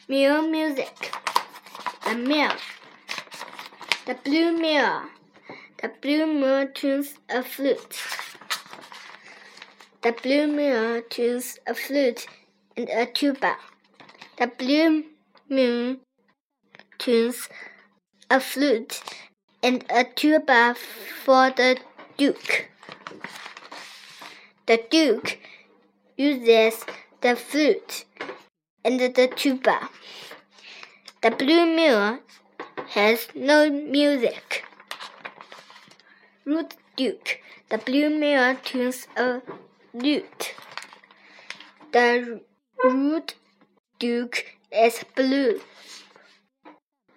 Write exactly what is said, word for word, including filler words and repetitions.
Mirror music. The mirror. The blue mirror. The blue mirror tunes a flute. The blue mirror tunes a flute and a tuba. The blue mirror tunes a flute and a tuba for the Duke. The Duke uses the flute and the tuba. The blue mirror has no music. Rude Duke. The blue mirror tunes a lute. The rude Duke is blue